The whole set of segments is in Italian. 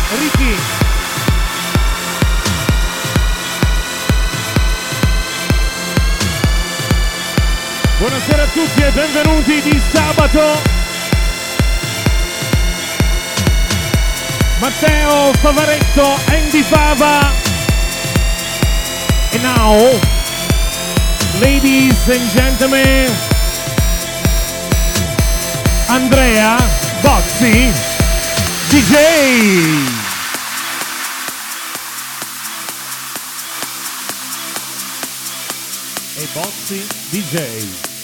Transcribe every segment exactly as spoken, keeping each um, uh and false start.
Ricky. Buonasera a tutti e benvenuti di sabato. Matteo Favaretto, Andy Fava. And now, ladies and gentlemen, Andrea Bozzi, D J. E Bozzi, D J.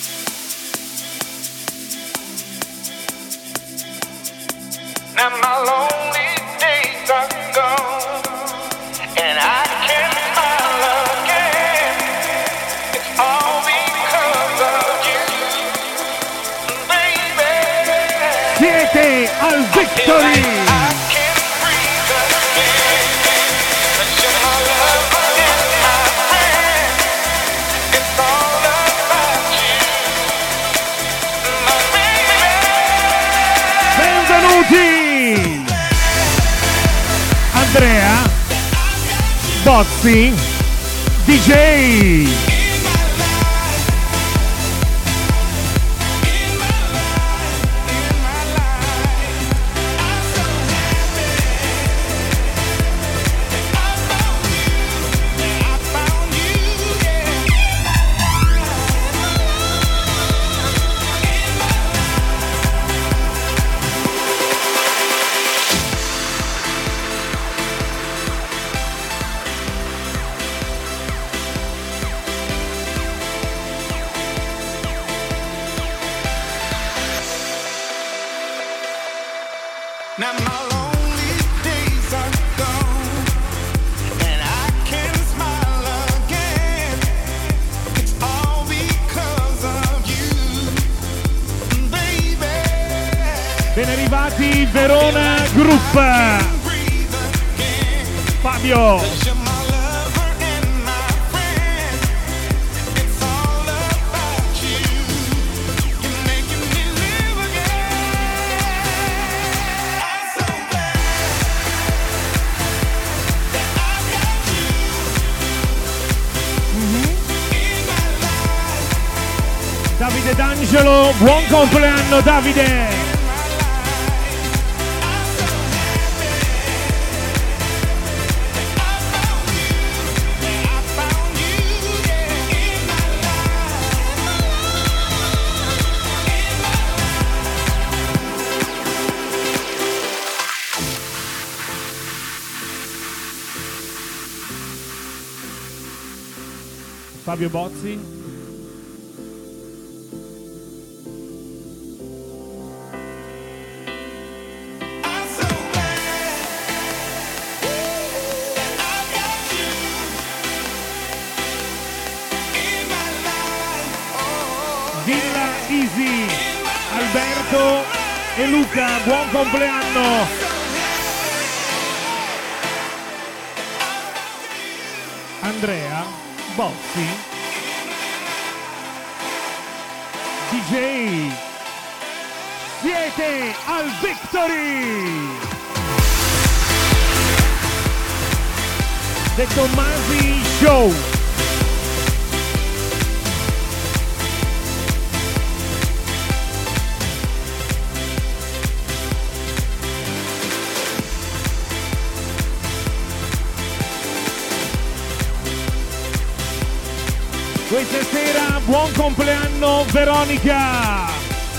Now my lonely days are gone, and I can smile again. It's all because of you, baby. Siete al Victory! I can breathe again. You're my lover and my friend. It's all about you, my baby. Benvenuti! Andrea Bozzi, D J. Now my lonely days are gone, and I can smile again. It's all because of you, baby. Ben arrivati Verona Group. Fabio. You're my lover and my friend. It's all about you. You're making me live again. I'm so glad that I've got you in my life. Davide D'Angelo, buon compleanno Davide. Fabio Bozzi. Villa Easy, Alberto e Luca, buon compleanno. Andrea Bozzi, D J. Siete al Victory. The Tommasi Show. Questa sera buon compleanno Veronica!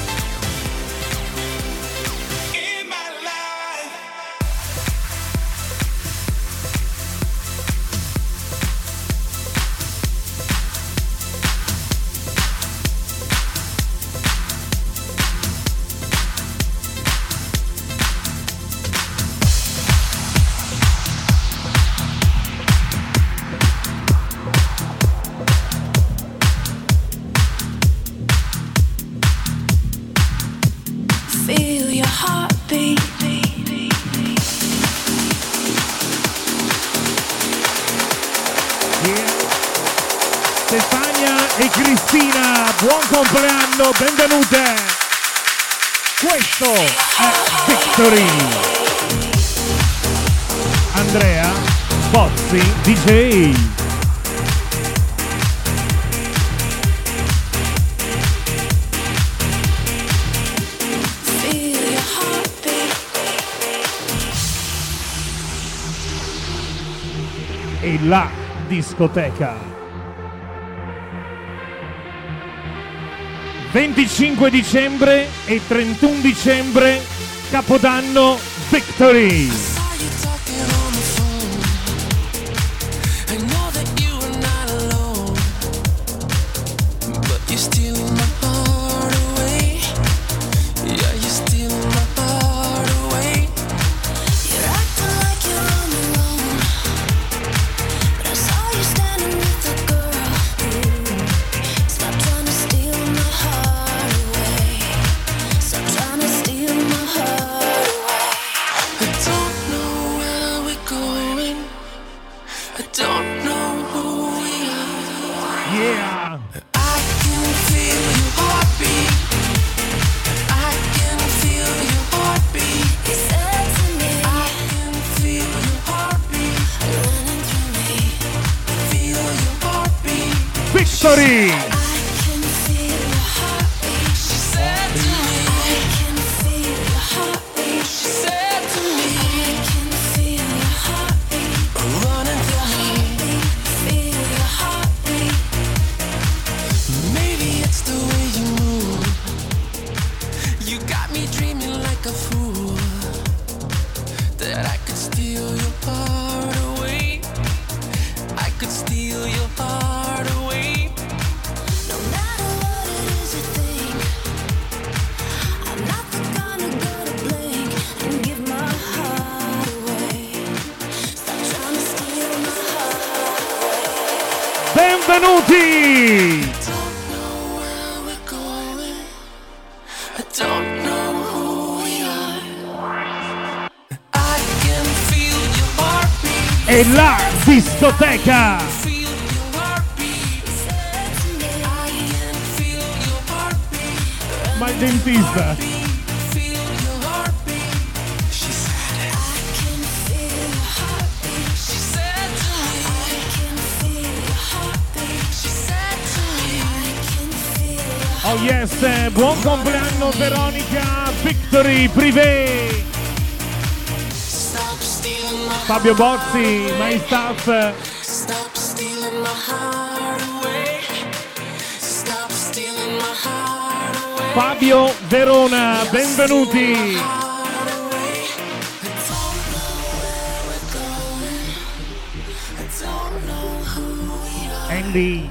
Stefania e Cristina, buon compleanno, benvenute! Questo è Victory! Andrea Bozzi D J. E la discoteca. venticinque dicembre e trentuno dicembre, Capodanno Victory. Victory! Benvenuti! E la discoteca! Ma il dentista! Oh yes, buon compleanno Veronica Victory Privé. Fabio Bozzi, my staff. Fabio Verona, benvenuti. Andy.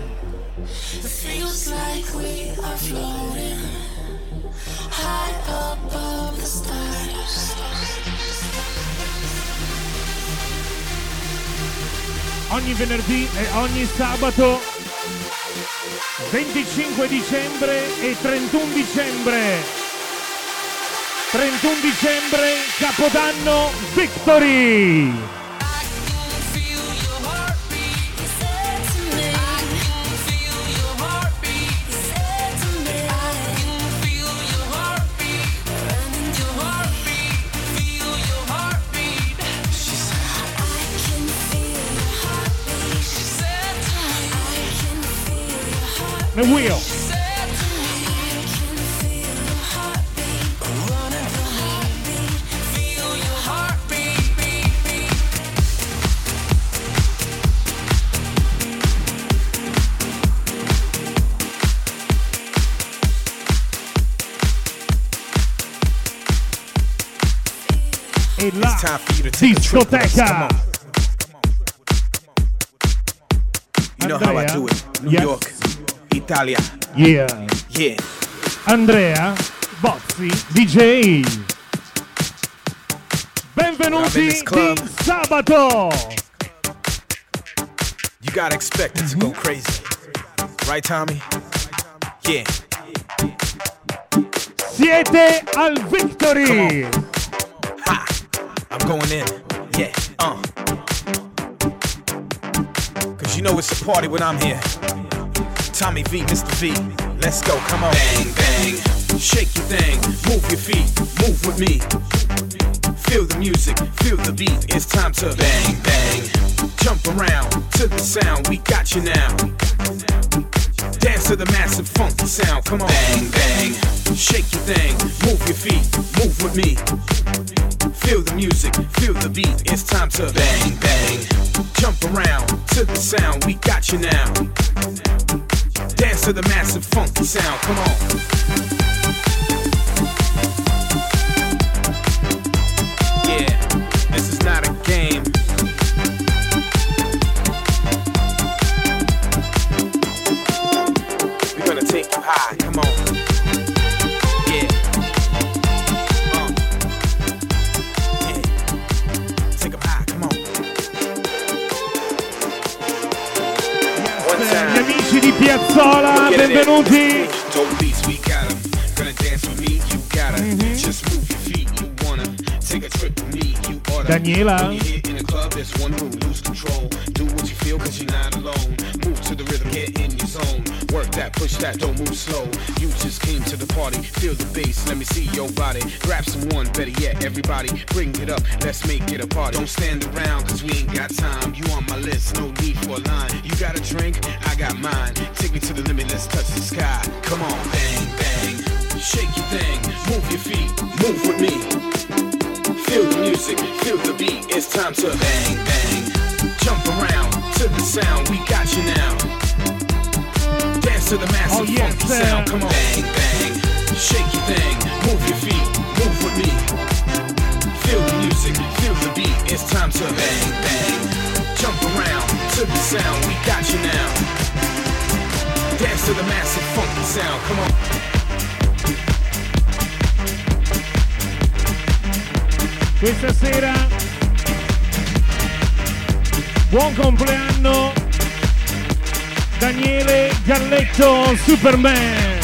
Ogni venerdì e ogni sabato, venticinque dicembre e trentuno dicembre. trentuno dicembre, Capodanno Victory. The wheel. E la discoteca. You know how I do it. New Yes. York, Italia. Yeah. Yeah. Andrea Bozzi D J. Benvenuti di sabato. You gotta expect it to go crazy. Right, Tommy? Yeah. Siete al Victory. Ha! I'm going in. Yeah. Uh. Cause you know it's a party when I'm here. Tommy V, Mister V. Let's go, come on. Bang, bang. Shake your thing. Move your feet. Move with me. feel the music, feel the beat. It's time to bang, bang. Jump around to the sound, we got you now. Dance to the massive funky sound, come on. Bang, bang, shake your thing, move your feet, move with me. Feel the music, feel the beat, it's time to bang, bang. Jump around to the sound, we got you now. Dance to the massive funky sound, come on. Yeah, this is not a game. We're gonna take you high, come on. Yeah. Uh. Yeah. Take 'em high, come on. One Gli time. amici di Piazzola, benvenuti. Dope beats, we got 'em. Gonna dance with me, you gotta. Just move your feet, you wanna. Take a trip with me, you oughta. Daniela. When you're here in the club, there's one rule, lose control. Do what you feel, cause you're not alone. Move to the rhythm, get in your zone. Work that, push that, don't move slow. You just came to the party, feel the bass, let me see your body. Grab someone, better yet, everybody, bring it up, let's make it a party. Don't stand around, cause we ain't got time. You on my list, no need for a line. You got a drink, I got mine. Take me to the limit, let's touch the sky. Come on, bang, bang. Shake your thing, move your feet, move with me. Feel the music, feel the beat, it's time to bang, bang. Jump around to the sound, we got you now. Dance to the massive Oh, yes, funky sir. sound, come on. Bang, bang, shake your thing, move your feet, move with me. Feel the music, feel the beat, it's time to bang, bang. Jump around to the sound, we got you now. Dance to the massive funky sound, come on. Questa sera buon compleanno Daniele Galletto Superman.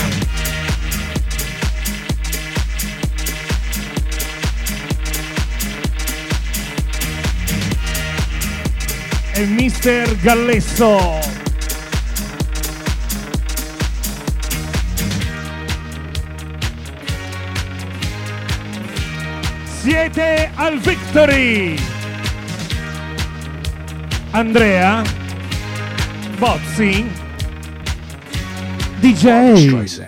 E mister Gallesso. Siete al Victory! Andrea Bozzi D J.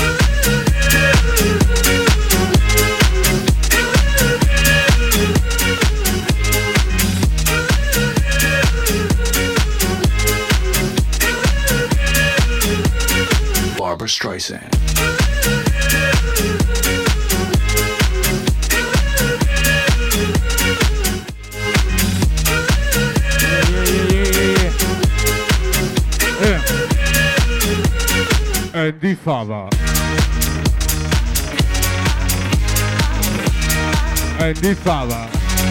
Barbra Streisand. Andy Fava. Andy Fava.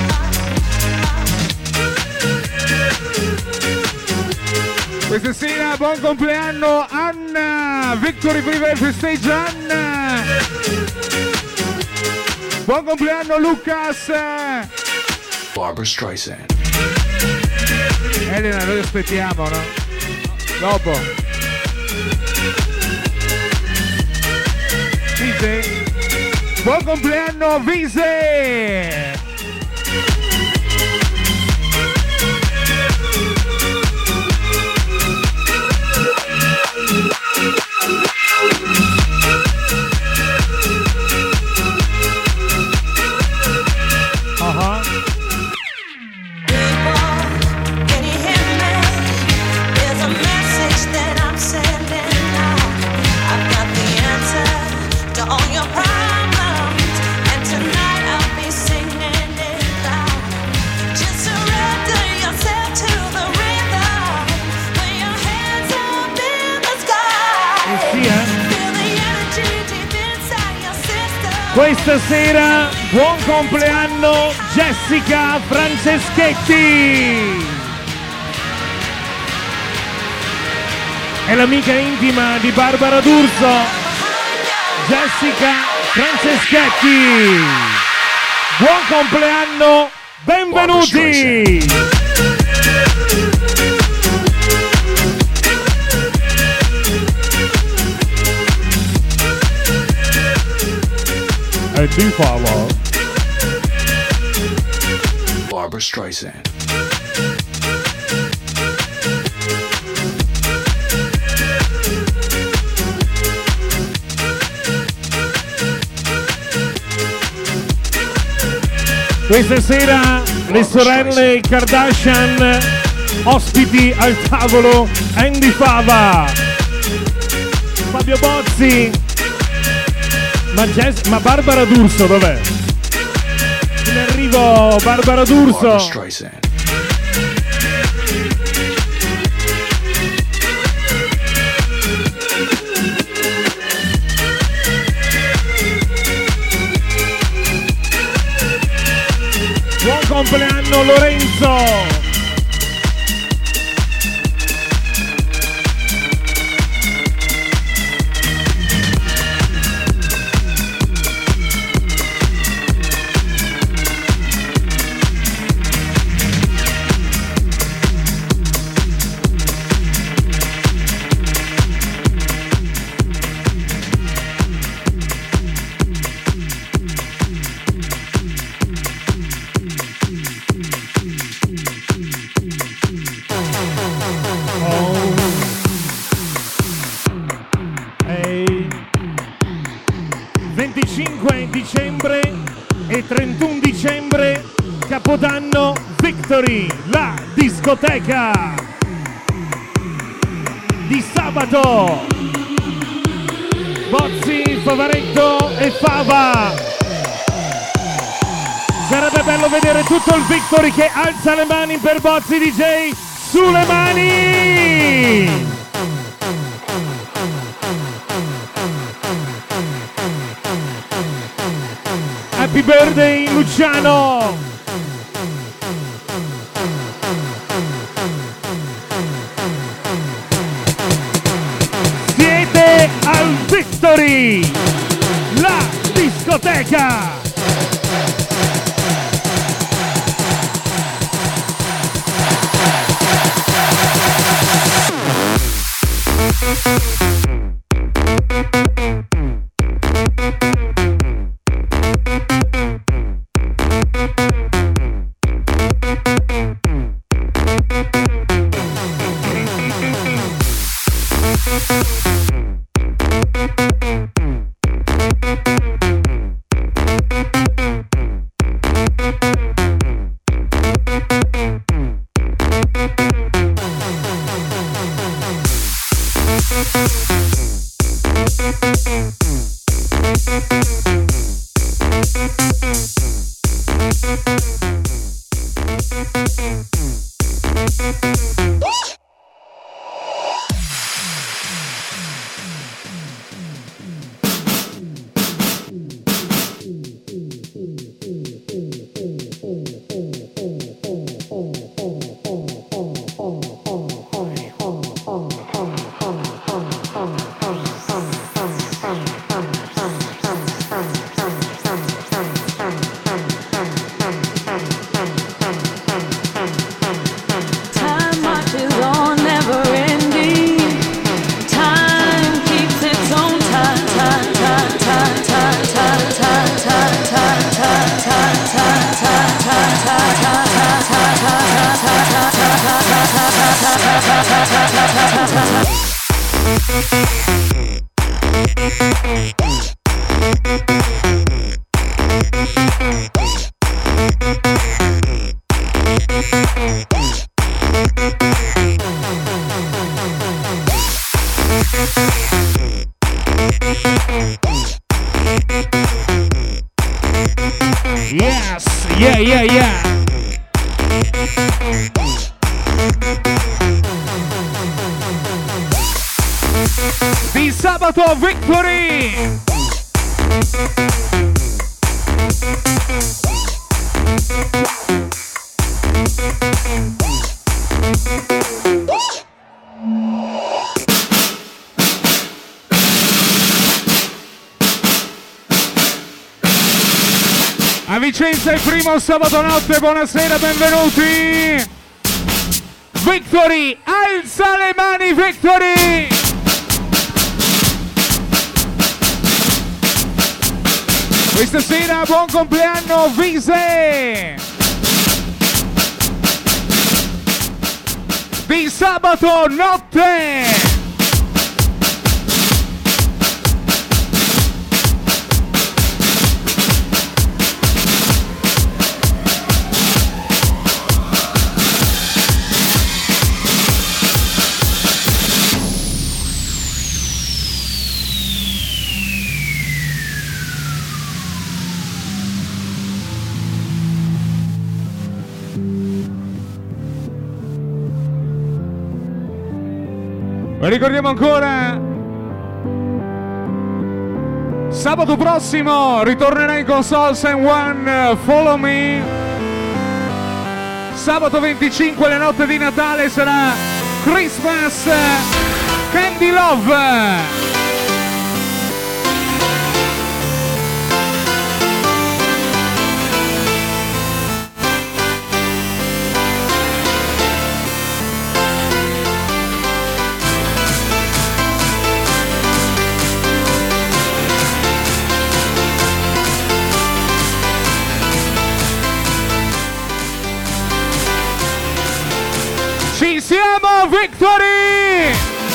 Questa sera buon compleanno Anna. Victory Privé Stage Anna. Buon compleanno Lucas. Barbra Streisand. Elena, noi aspettiamo, no? Dopo. Vise. Buon compleanno Vise. Uh-huh. Questa sera buon compleanno Jessica Franceschetti. È l'amica intima di Barbara D'Urso. Jessica Franceschetti. Buon compleanno, benvenuti. E di follow. Barbra Streisand. Questa sera le sorelle Kardashian ospiti al tavolo, Andy Fava, Fabio Bozzi, ma, Jess, ma Barbara D'Urso dov'è? In arrivo Barbara D'Urso. Barbra Streisand. Buon compleanno Lorenzo! venticinque dicembre e trentuno dicembre, Capodanno Victory, la discoteca di sabato. Bozzi, Favaretto e Fava. Sarebbe bello vedere tutto il Victory che alza le mani per Bozzi D J. Sulle mani! Happy birthday Luciano! Siete al Victory, la discoteca! Yes, yeah, yeah, yeah. Di sabato Victory. A Vicenza il primo sabato notte, buonasera, benvenuti! Victory, alza le mani Victory! Questa sera buon compleanno Vise! sabato notte. Ricordiamo ancora, sabato prossimo ritornerai con Souls and One, Follow Me. Sabato venticinque, la notte di Natale, sarà Christmas Candy Love. Ci siamo, Victory!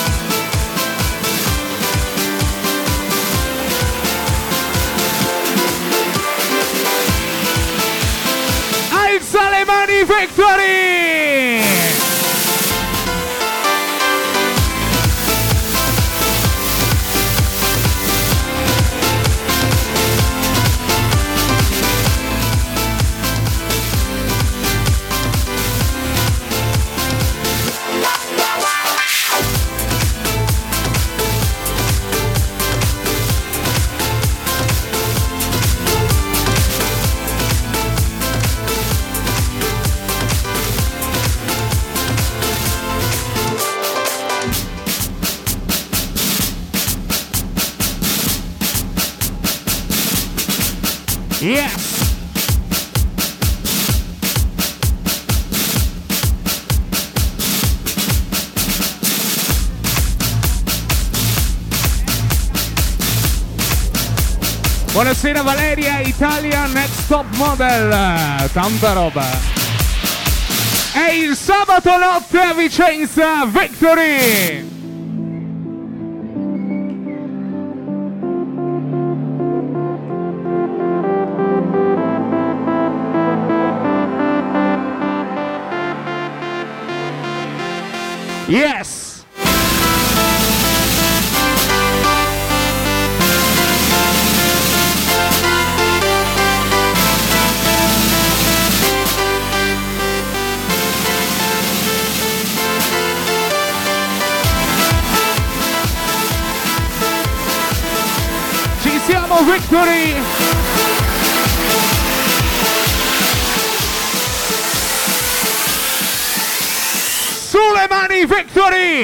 Alza le mani, Victory! Yes! Buonasera Valeria, Italia Next Top Model, tanta roba. È il sabato notte a Vicenza, Victory! Yes! Ci siamo, Victory! Sulle mani, Victory!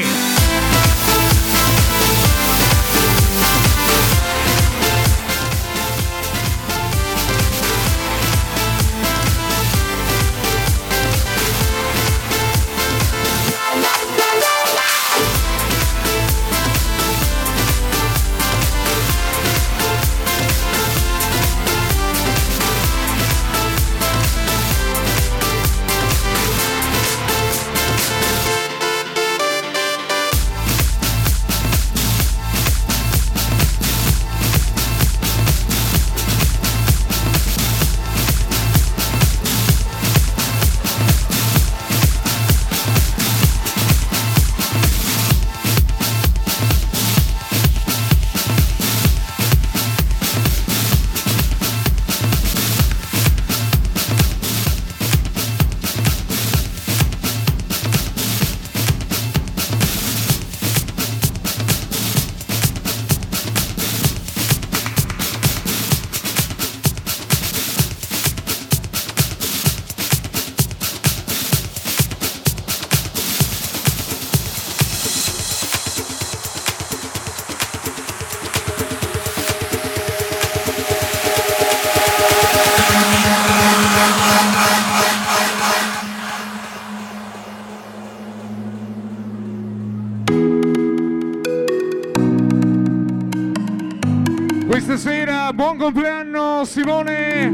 Questa sera, buon compleanno Simone!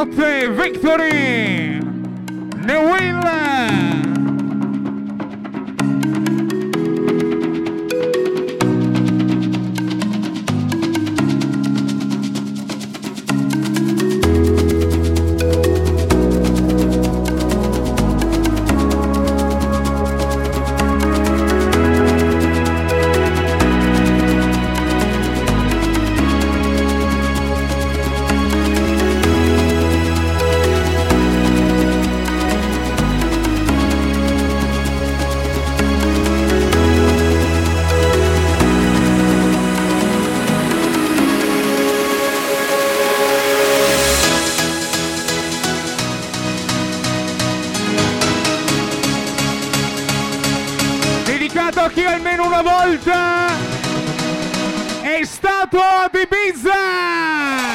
notte, Victory! New Will! Dedicato a chi almeno una volta è stato ad Ibiza!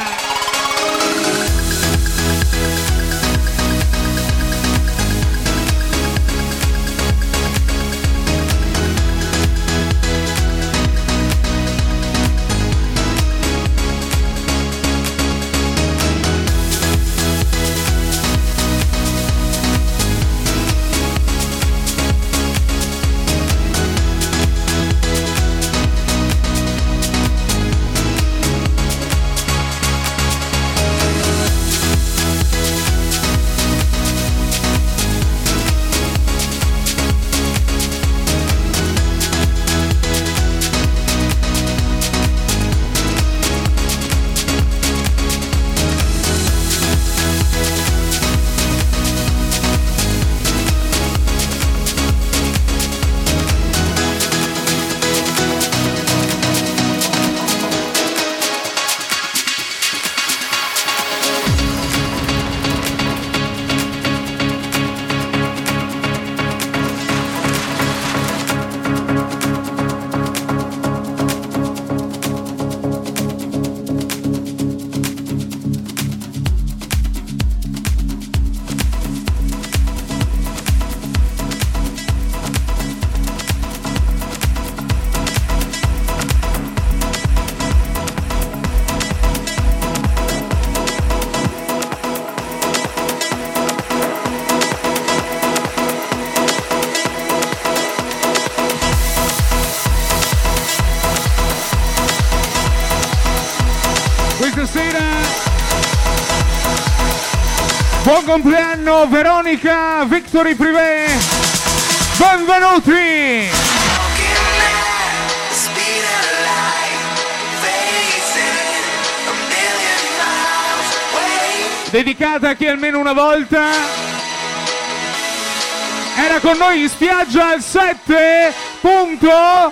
Buon compleanno Veronica Victory Privé, benvenuti! Dedicata a chi almeno una volta era con noi in spiaggia al sette punto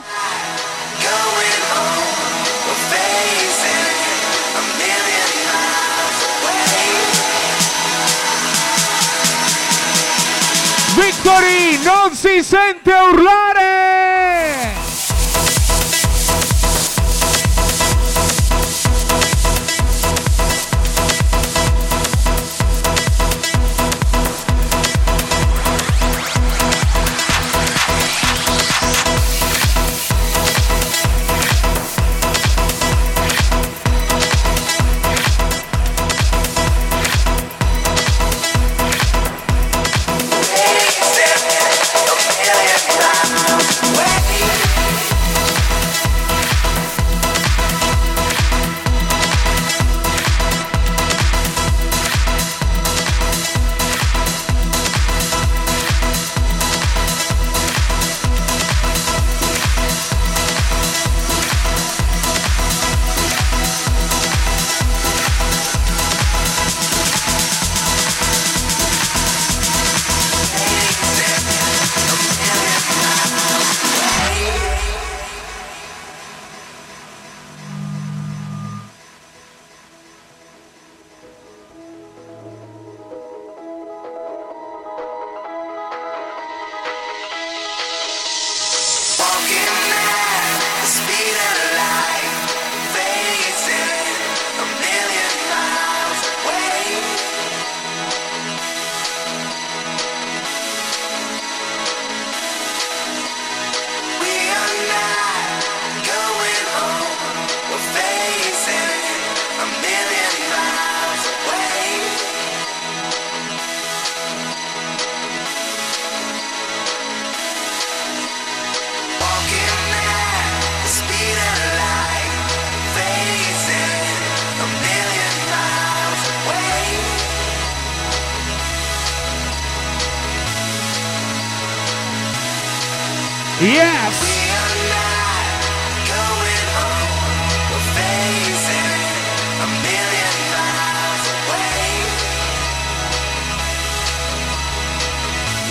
Victory non si sente urlare! Way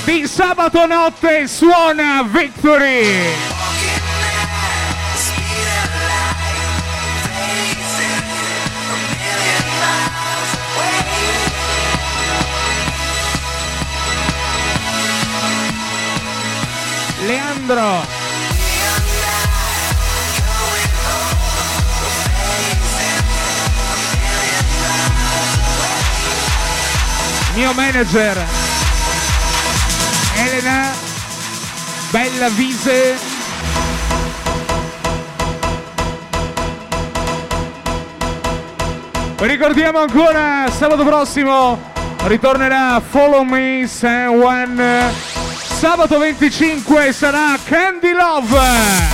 di sabato notte suona Victory. Leandro. Mio manager Elena Bella Vise. Ricordiamo ancora sabato prossimo ritornerà Follow Me San Juan. Sabato venticinque sarà Candy Love.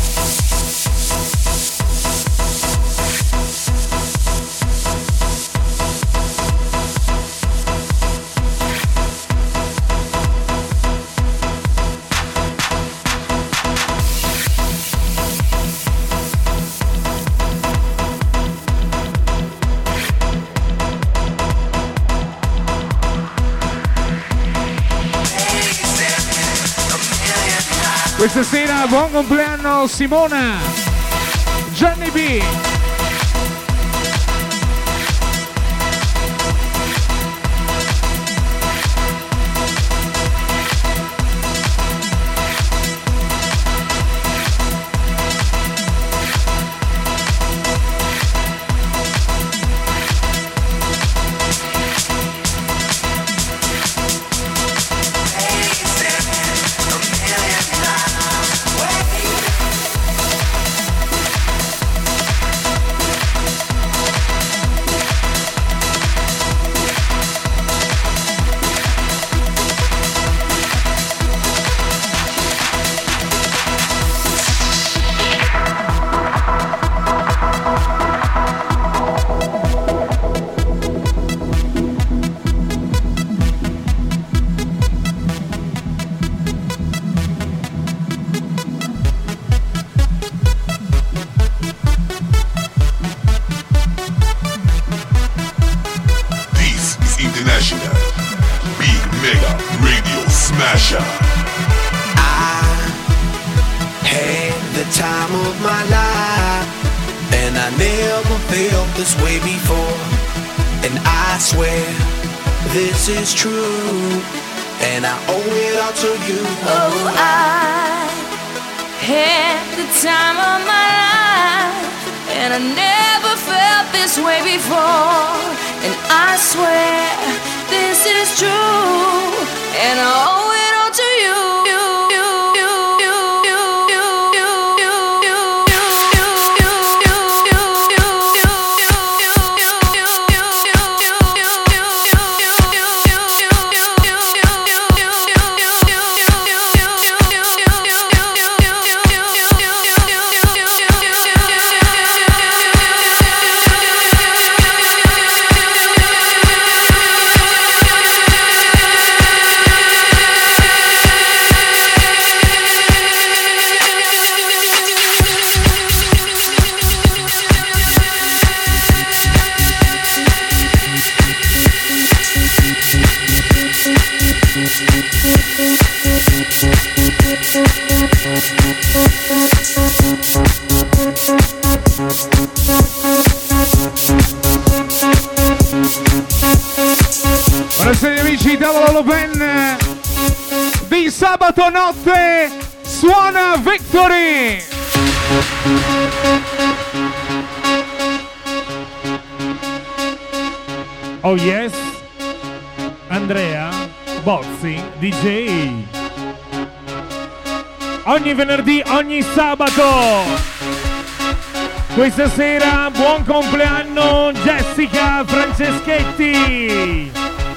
Questa sera buon compleanno Simona, Gianni B. Is true, and I owe it all to you. Oh, I had the time of my life, and I never felt this way before. And I swear this is true, and I owe it all to you. Buonasera amici, Tavolo Ben di sabato notte suona Victory. Oh yes, Andrea Bozzi D J. Ogni venerdì, ogni sabato. Questa sera buon compleanno Jessica Franceschetti.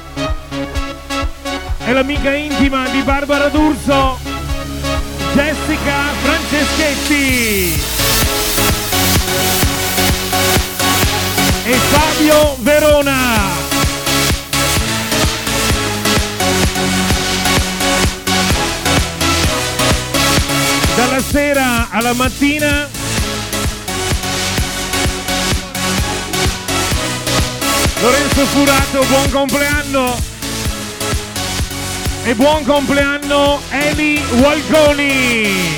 È l'amica intima di Barbara D'Urso, Jessica Franceschetti. E Fabio Verona. Dalla sera alla mattina Lorenzo Furato, buon compleanno. e buon compleanno Eli Walconi.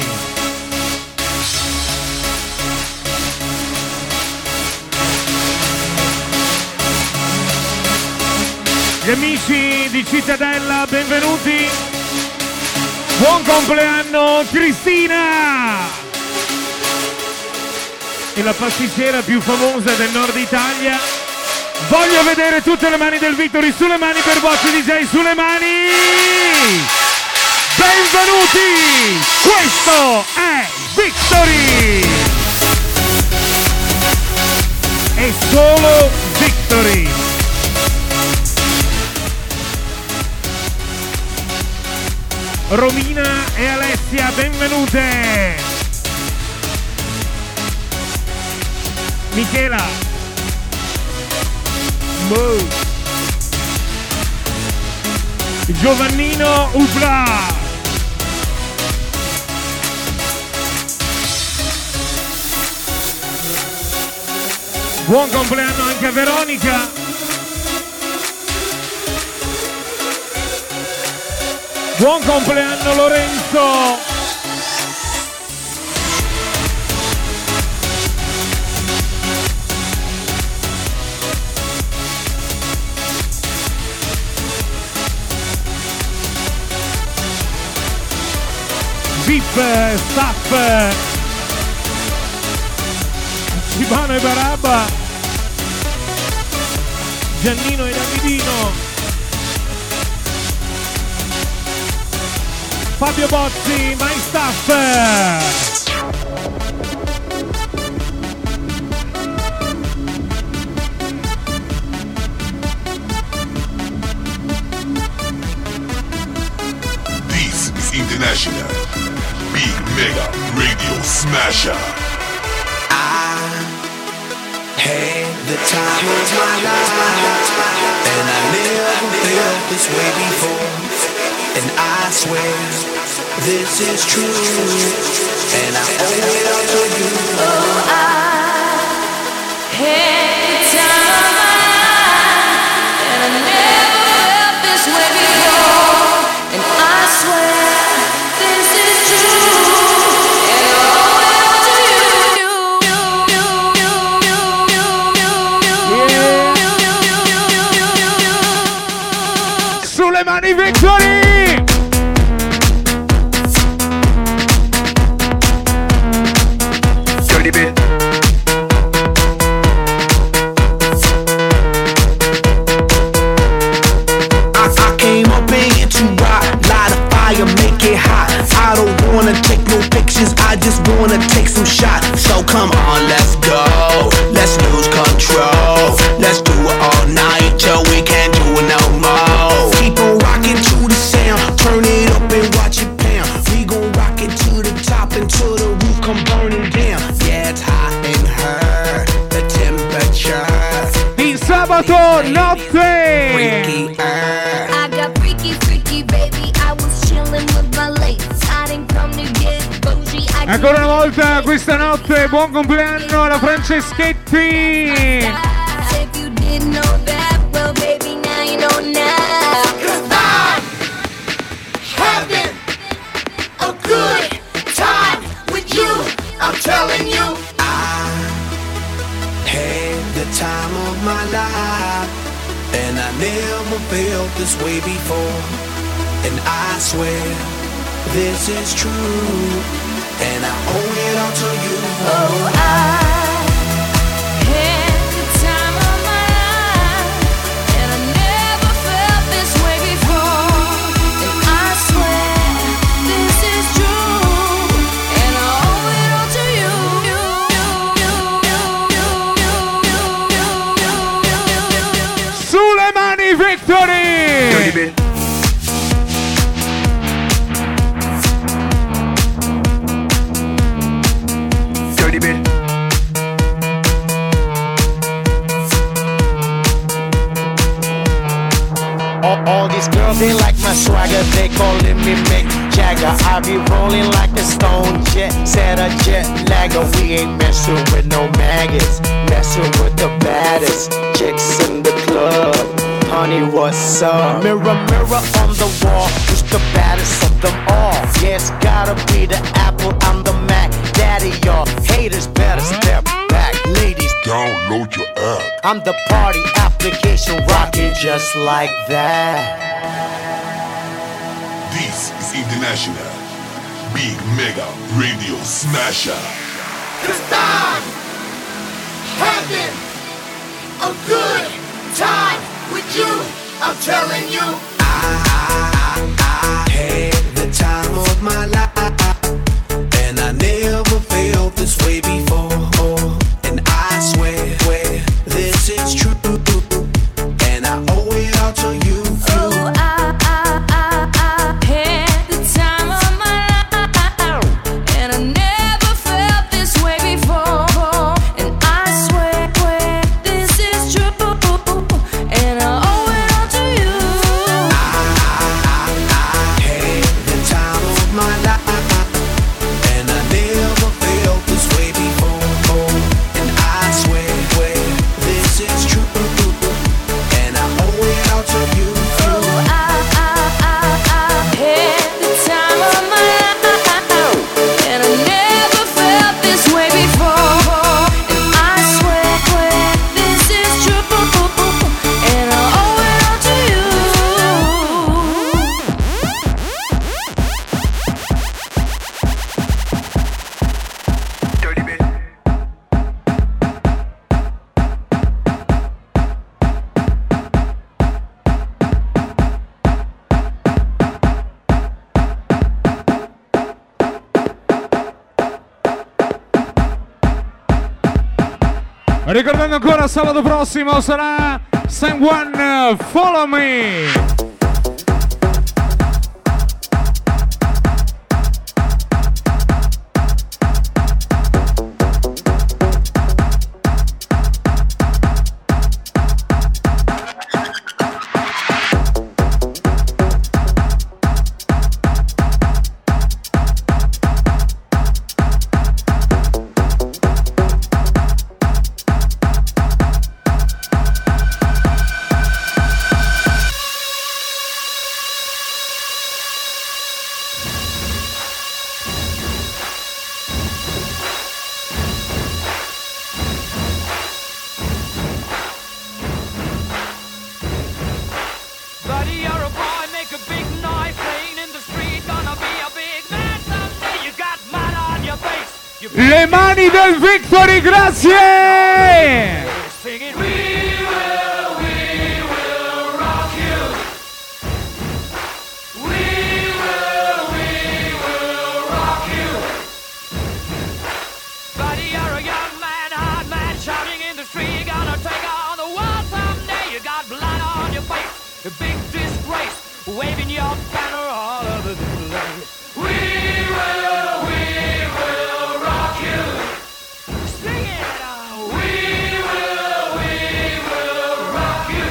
Gli amici di Cittadella, benvenuti. Buon compleanno Cristina! E la pasticcera più famosa del nord Italia. Voglio vedere tutte le mani del Victory, sulle mani per Bozzi D J, sulle mani! Benvenuti! Questo è Victory! È solo Victory! Romina e Alessia, benvenute! Michela! Mo. Giovannino Upla! Buon compleanno anche a Veronica! Buon compleanno Lorenzo! V I P, staff, Cibano e Barabba, Giannino e Davidino, Fabio Bozzi, my staff. This is International Big Mega Radio Smasher. I had the time of my life, and I never felt this way before. And I swear this is true, and I owe it all to you. Oh, I had the time of my life, and I never felt this way before. And I swear this is true, and I owe it all to you. Sulle mani Victory! Bit. I, I came up in here to rock, light a fire, make it hot. I don't wanna take no pictures, I just wanna take some shots. So come on, let's go, let's lose control. Let's do it all night till we can't do it no more. Keep on rocking to the sound, turn it up and watch it pound. We gon' rock it to the top until the roof come burning down. Yeah, it's hot in her, the temperature. Il sabato notte! Freaky, uh. I got freaky, freaky, baby. I was chilling with my ladies. I didn't come to get bougie. I Ancora una volta questa notte, buon compleanno alla Franceschetti! If you didn't know that, well, baby, now you know now. 'Cause I'm having a good time with you. I'm telling you. I had the time of my life, and I never felt this way before. And I swear this is true, and I owe it all to you. Oh, I had the time of my life, and I never felt this way before. And I swear this is true, and I owe it all to you. Sulle mani Victory! Bit. Dirty bit. All, all these girls, they like my swagger, they calling me Mick Jagger. I be rolling like a stone jet, set a jet lagger. We ain't messing with no maggots, messing with the baddest chicks in the club. Honey, what's up? Mirror, mirror on the wall, who's the baddest of them all. Yes, gotta be the Apple, I'm the Mac. Daddy, y'all haters better step back. Ladies, Download your app. I'm the party application rocking just like that. This is International Big Mega Radio Smasher. Cause I'm having a good time with you. I'm telling you. I had the time of my life, and I never felt this way before. And I swear, swear this is true, and I owe it all to you. Oh, I, I, I, I had the time of my life, and I never felt this way before. And I swear, swear this is true, and I owe it all to you. I had the time of my life, and I never felt this way before. And I swear, swear this is true, and I owe it all to you. Oh, I, I, I, I had the time of my life, and I never felt this way before. And I swear, swear this is true, and I owe it all to you. Ricordando ancora sabato prossimo sarà Someone Follow Me. Buddy, you're a boy, make a big noise, playing in the street, gonna be a big man someday. You got mud on your face. You Le mani del Victory, grazie! singing, we will, we will rock you. We will, we will rock you. Buddy, you're a young man, hard man, shouting in the street, gonna take on the world someday. You got blood on your face. A big disgrace, waving your banner all over the place. We will, we will rock you. Sing it out. We will, we will rock you.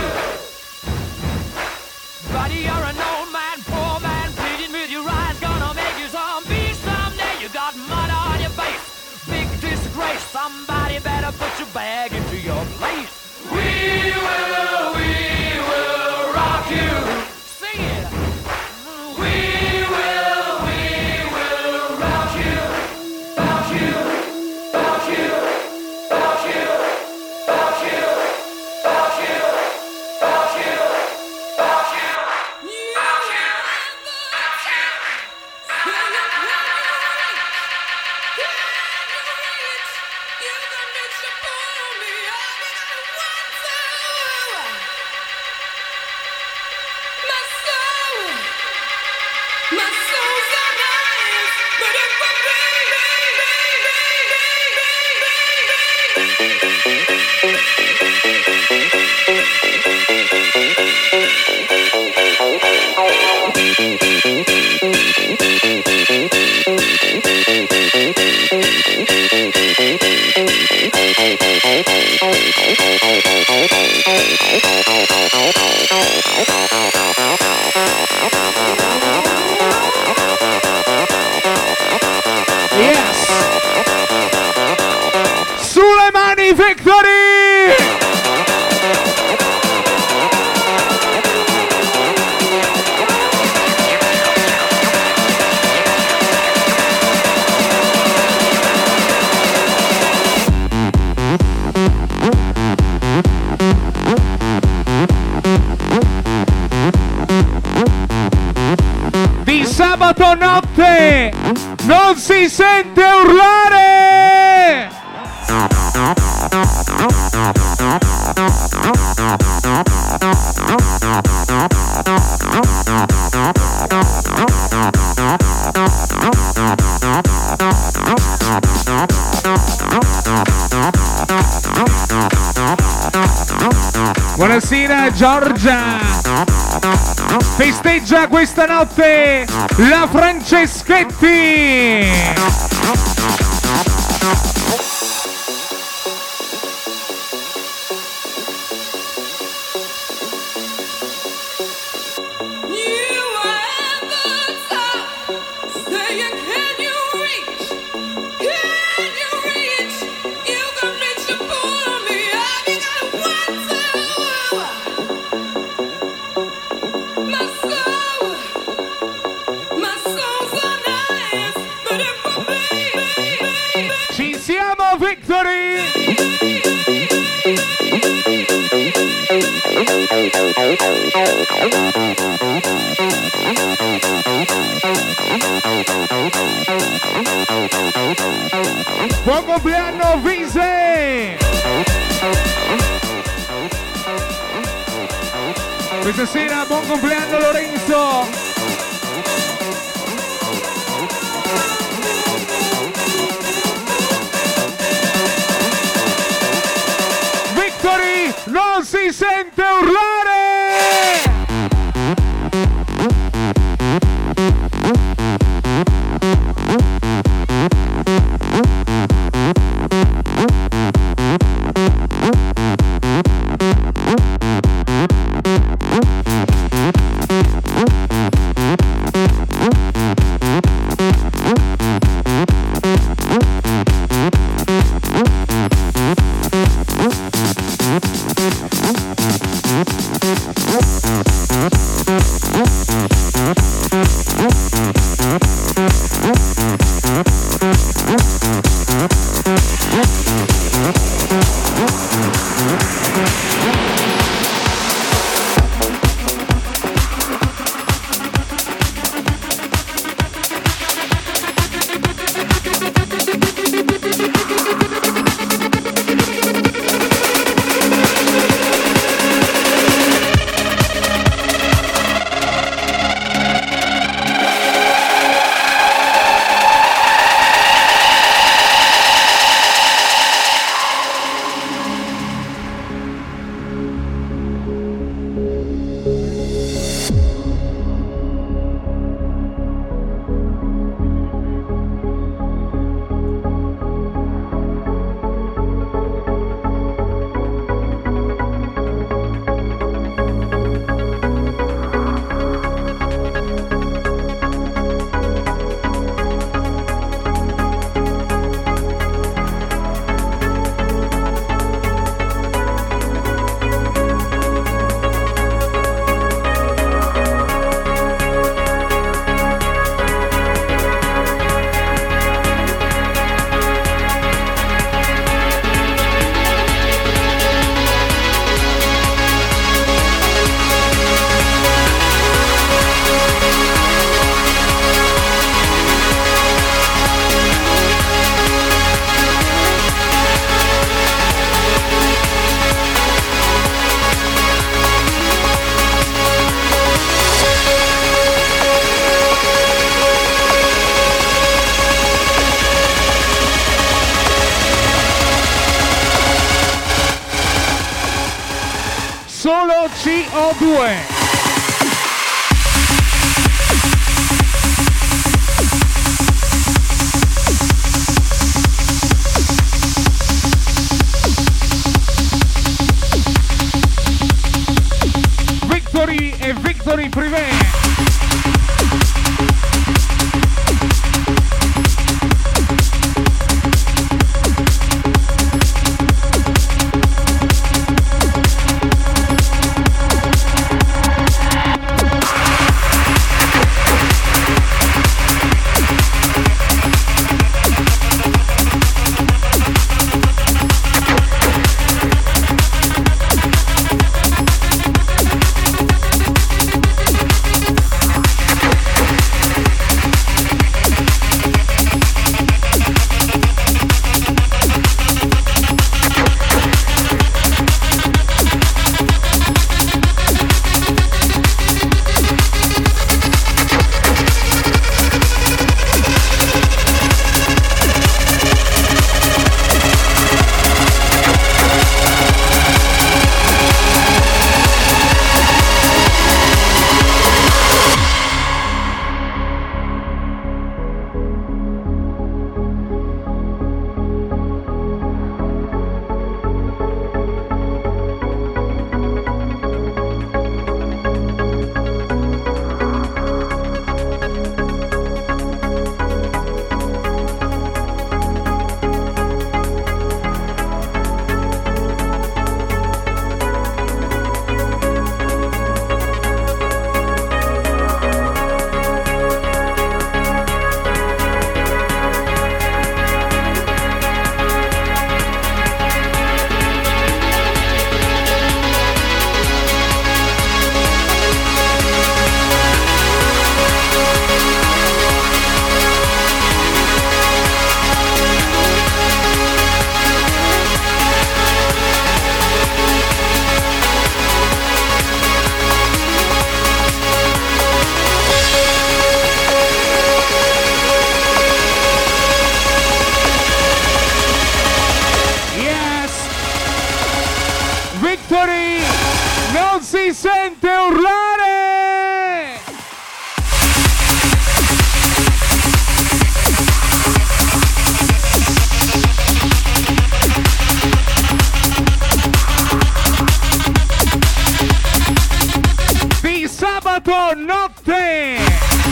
Buddy, you're an old man, poor man, pleading with your eyes, gonna make you zombie someday. You got mud on your face, big disgrace. Somebody better put your bag into your place. We will, we will rock you. Sing it. We will, we will rock you. Rock you. Rock you. Rock you. Rock you. Rock you. Rock you. Rock you. Rock you. Yes! Sulle mani, Victory! notte non si sente urlare. Buonasera Giorgia, festeggia questa notte la Franceschetti. Buon compleanno Vise! Questa sera buon compleanno Lorenzo! Victory non si sente urlare! Solo C O due. Victory e Victory Privé. si sente urlare! Di sabato notte!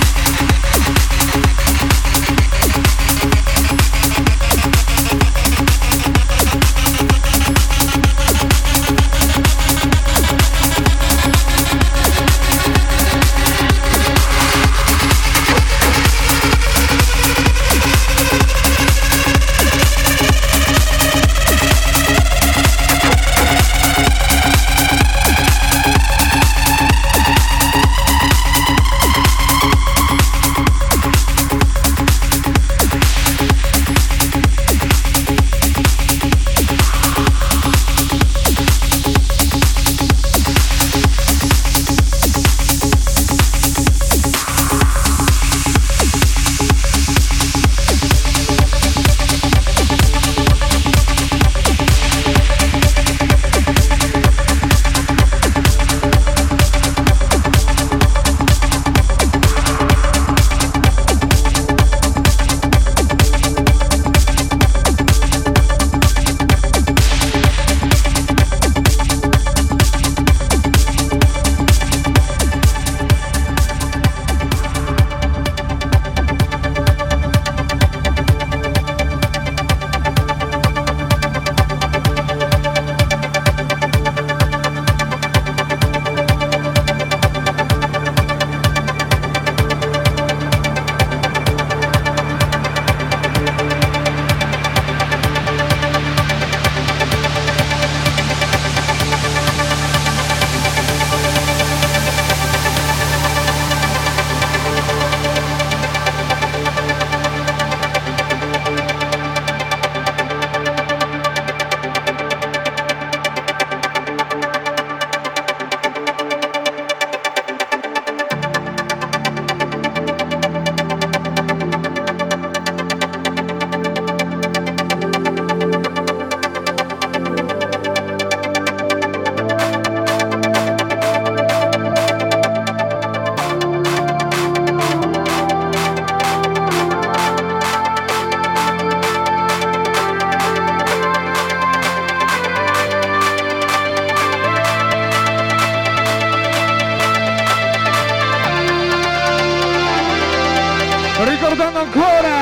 Ricordando ancora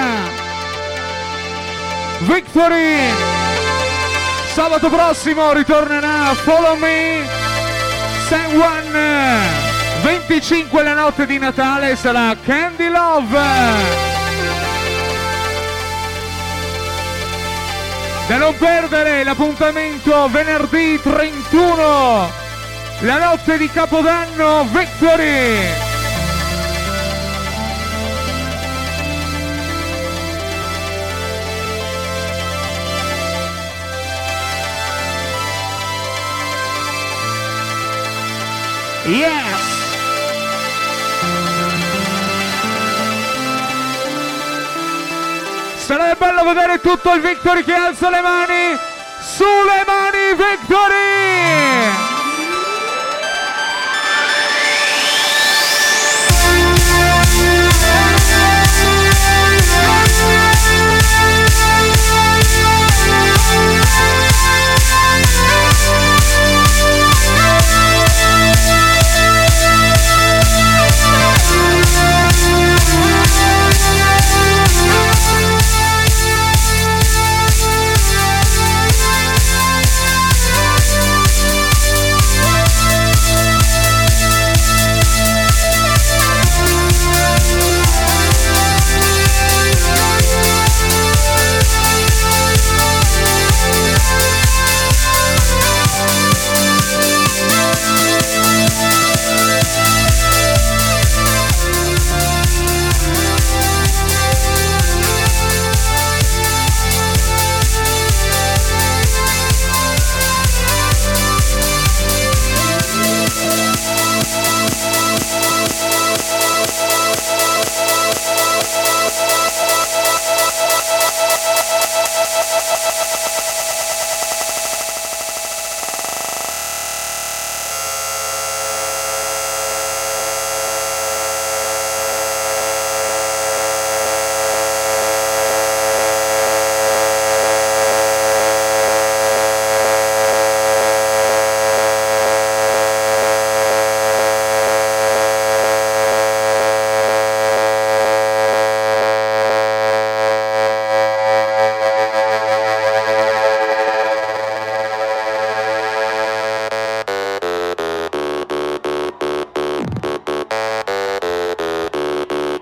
Victory, sabato prossimo ritornerà Follow Me, San Juan, venticinque la notte di Natale sarà Candy Love. Da non perdere l'appuntamento venerdì trentuno, la notte di Capodanno, Victory. Yes! Sarebbe bello vedere tutto il Victory che alza le mani! Sulle mani Victory!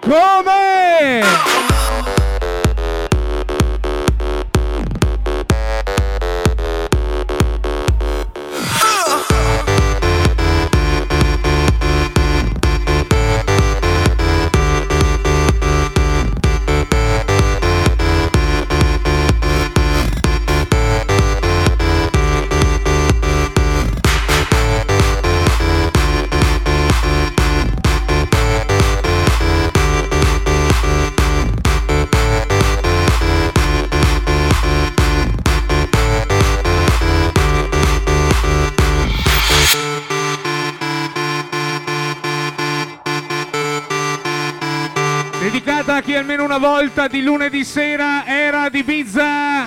come? Dedicata a chi almeno una volta di lunedì sera era ad Ibiza.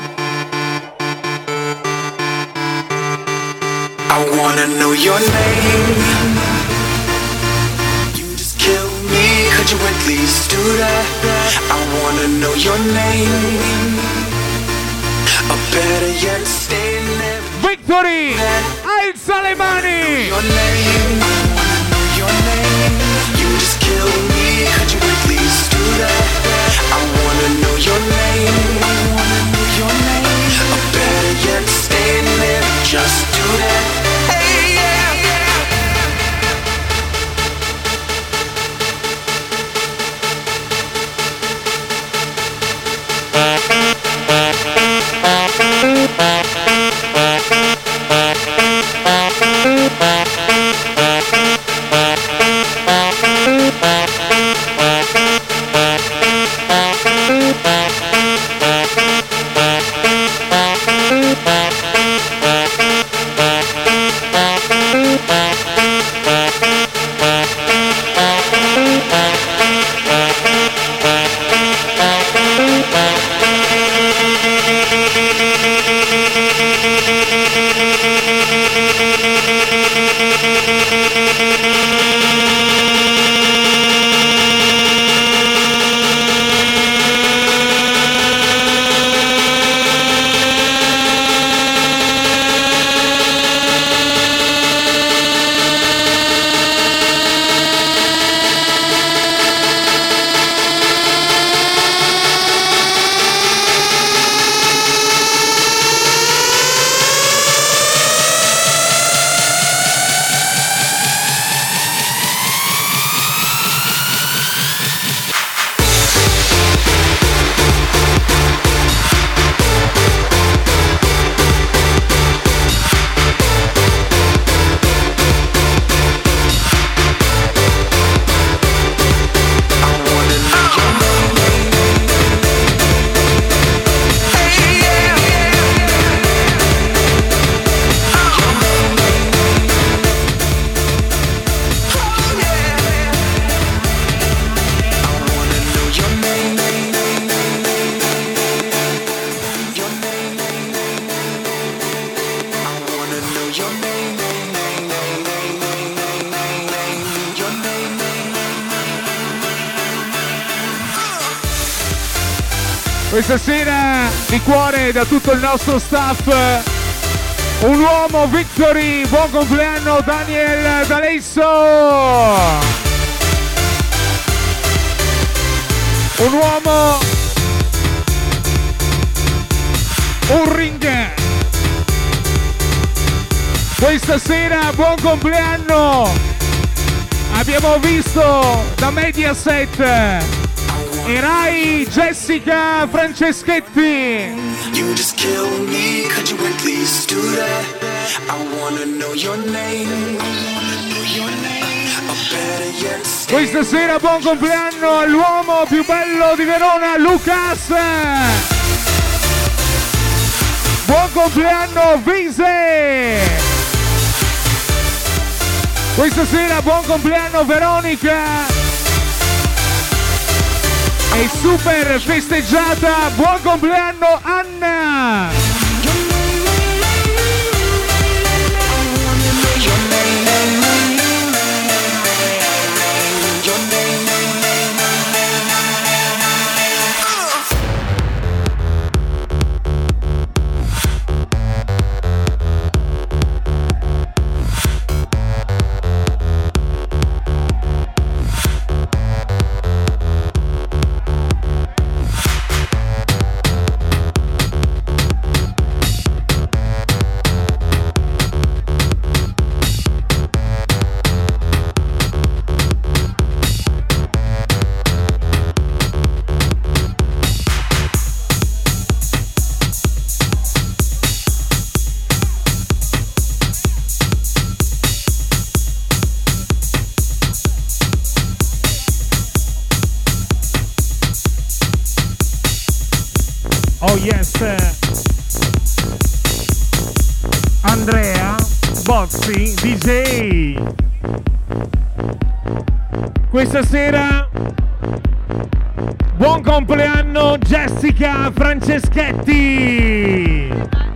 I wanna know your name. You just kill me, could you at least do that? I wanna know your name. Or better yet, stay there. Victory! Alza le mani! Your name, your name. You just kill me, could you at least do that? I wanna know your name. I wanna know your name. Or better yet, stay there, just do that. Hey, yeah, yeah. Questa sera di cuore da tutto il nostro staff, un uomo, Victory, buon compleanno Daniel D'Alesso! Un uomo, un ring. Questa sera buon compleanno! Abbiamo visto da Mediaset e Rai Jessica Franceschetti. You just kill me, could you at least do that? I wanna know your name. I wanna know your name. Or better yet, stay. Questa sera buon compleanno all'uomo più bello di Verona, Lucas. Buon compleanno Vise. Questa sera buon compleanno Veronica. E super festeggiata, buon compleanno Anna! Andrea Bozzi D J. Questa sera buon compleanno Jessica Franceschetti.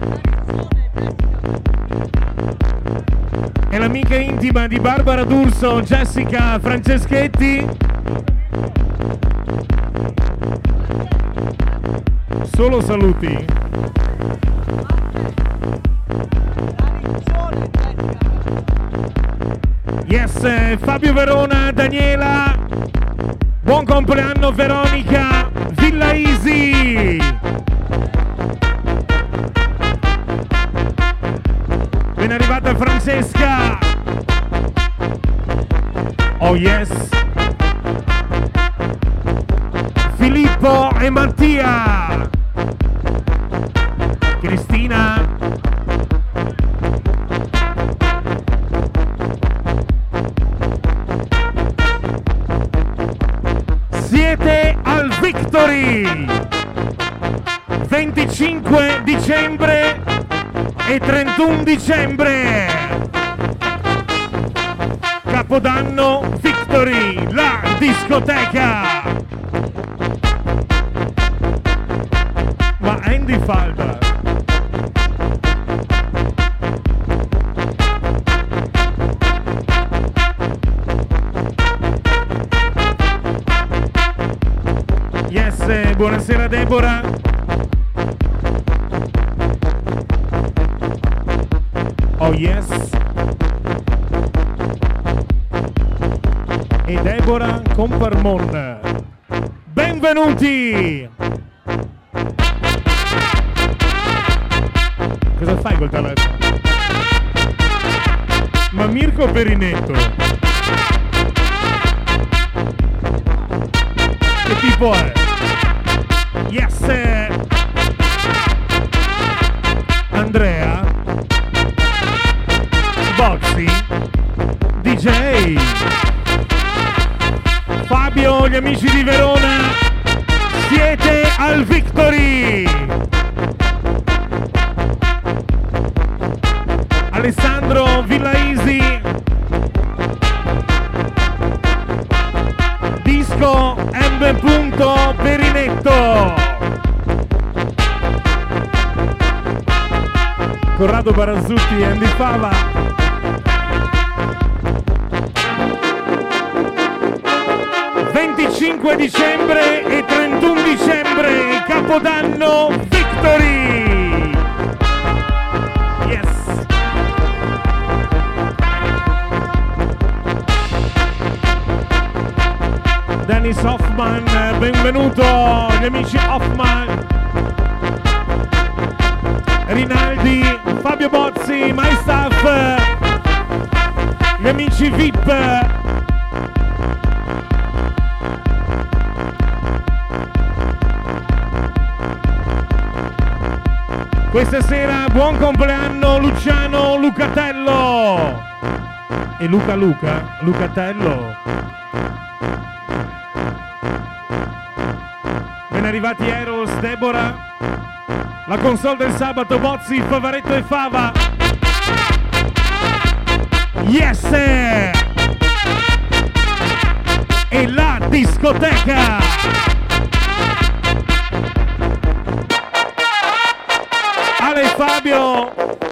È l'amica intima di Barbara D'Urso, Jessica Franceschetti. Solo saluti. Yes, Fabio Verona, Daniela. Buon compleanno Veronica, Villa Easy. Ben arrivata Francesca. Oh yes. Filippo e Mattia. Cristina. Siete al Victory venticinque dicembre e trentuno dicembre. Capodanno Victory, la discoteca. Ma Andy Falda. Yes, buonasera Deborah. Oh yes. E Deborah con Parmon. Benvenuti. Cosa fai col telefono? Ma Mirko Perinetto. Che tipo è? Yes! Andrea Bozzi D J Fabio, gli amici di Verona, siete al Victory. Alessandro Villa Easy, Disco M. Perinetto, Corrado Barazzutti e Andy Fava. venticinque dicembre e trentuno dicembre, Capodanno Victory. Yes. Dennis Hoffman, benvenuto, gli amici Hoffman. Rinaldi, Fabio Bozzi, My Staff, gli amici V I P. Questa sera buon compleanno Luciano Lucatello e Luca Luca Lucatello. Ben arrivati Eros, Deborah, la console del sabato, Bozzi, Favaretto e Fava. Yes! E la discoteca! Ale e Fabio.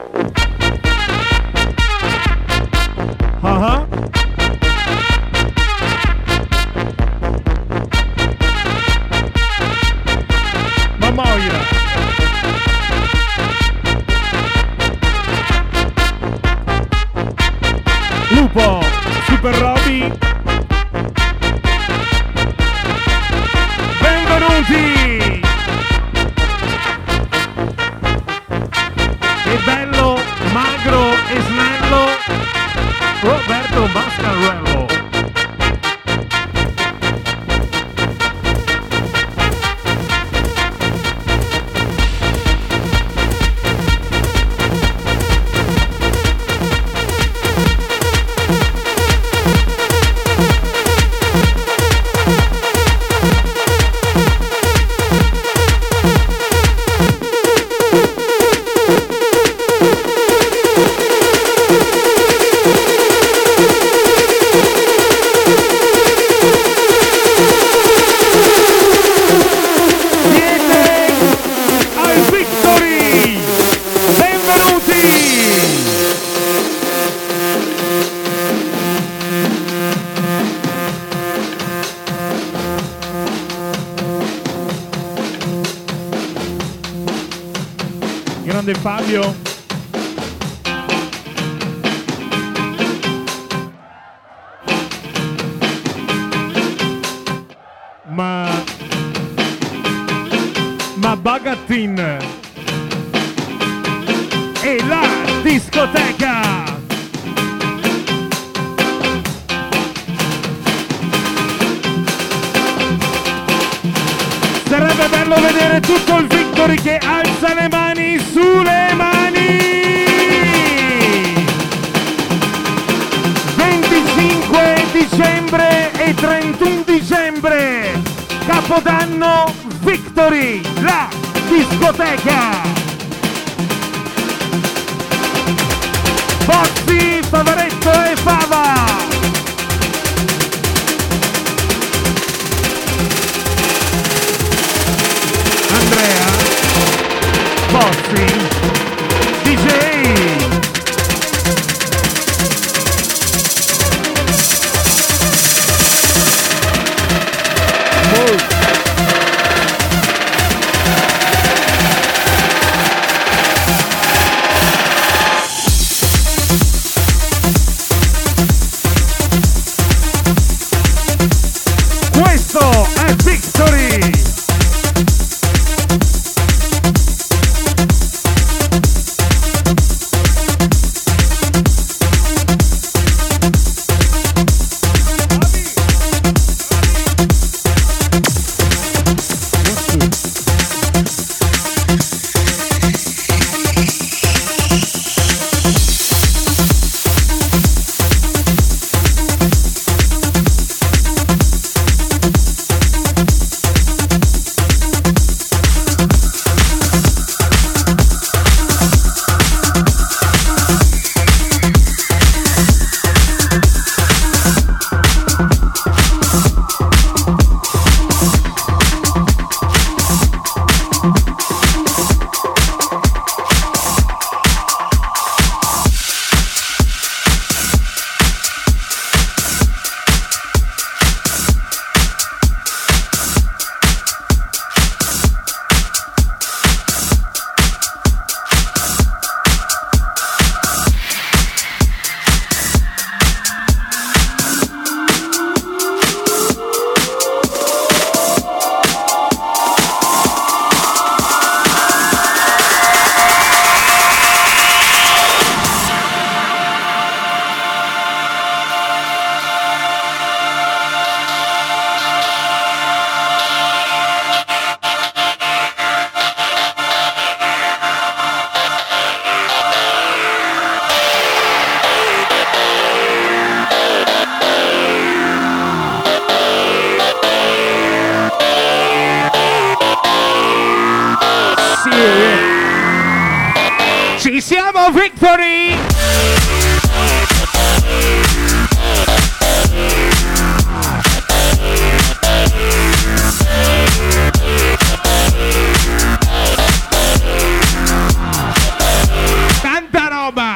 Uh-huh. Mamoia. Lupo, Super Roby. radio. Ma ma Bagattin è la discoteca. Sarebbe bello vedere tutto il Victory che alza le mani sulle mani. venticinque dicembre e trentuno dicembre, Capodanno Victory, la discoteca. Bozzi, Favaretto e Fava. Andrea, Bozzi, D J. Move. Questo è Victory. Ci siamo, Victory! Tanta roba!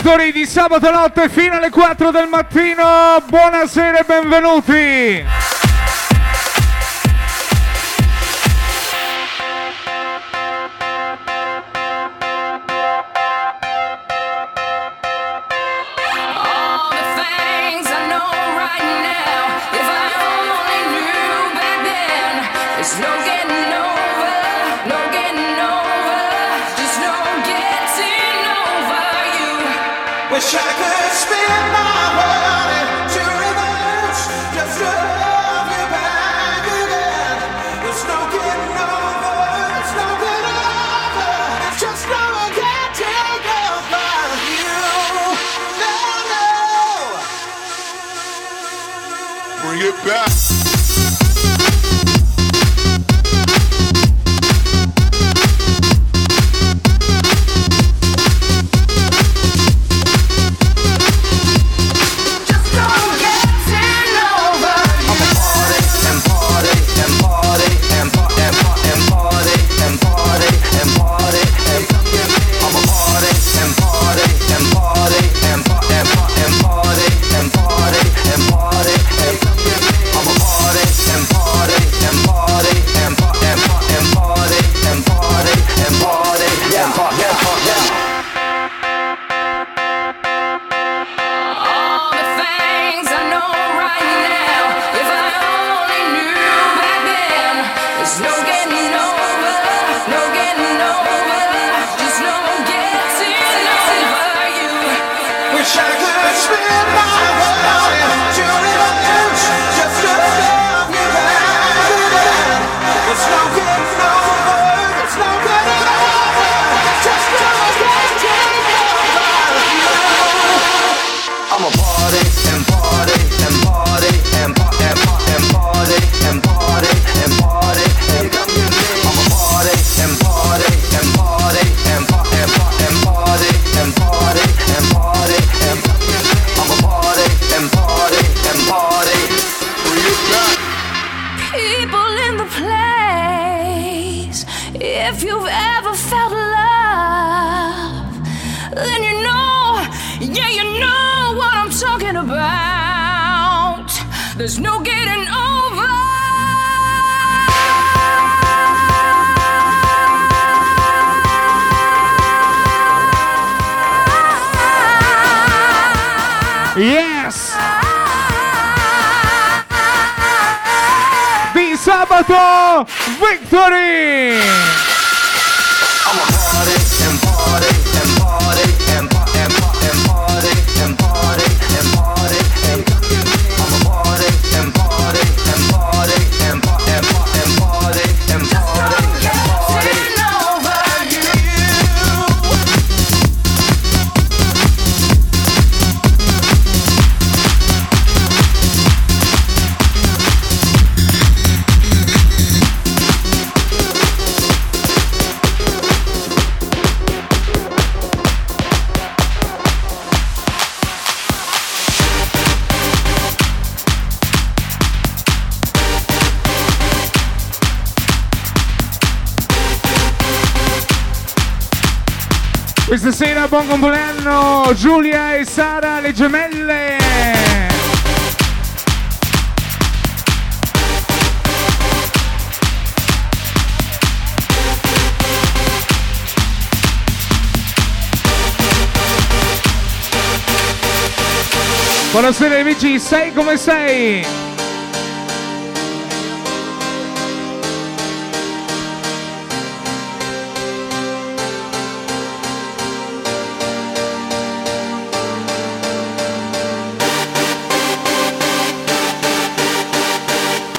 Victory di sabato notte fino alle quattro del mattino. Buonasera e benvenuti. Wish I could spin my body to reverse, just to have you back again. There's no getting over, there's no getting over, it's just no getting over you. No, no. Bring it back. There's no getting over. Yes! Di sabato Victory! I'm a party and party and party and party and party and party and party and party and I'm a party and party and party and party and party and party and party and party over you. Questa sera buon compleanno Giulia e Sara, le gemelle. Buonasera amici, sei come sei?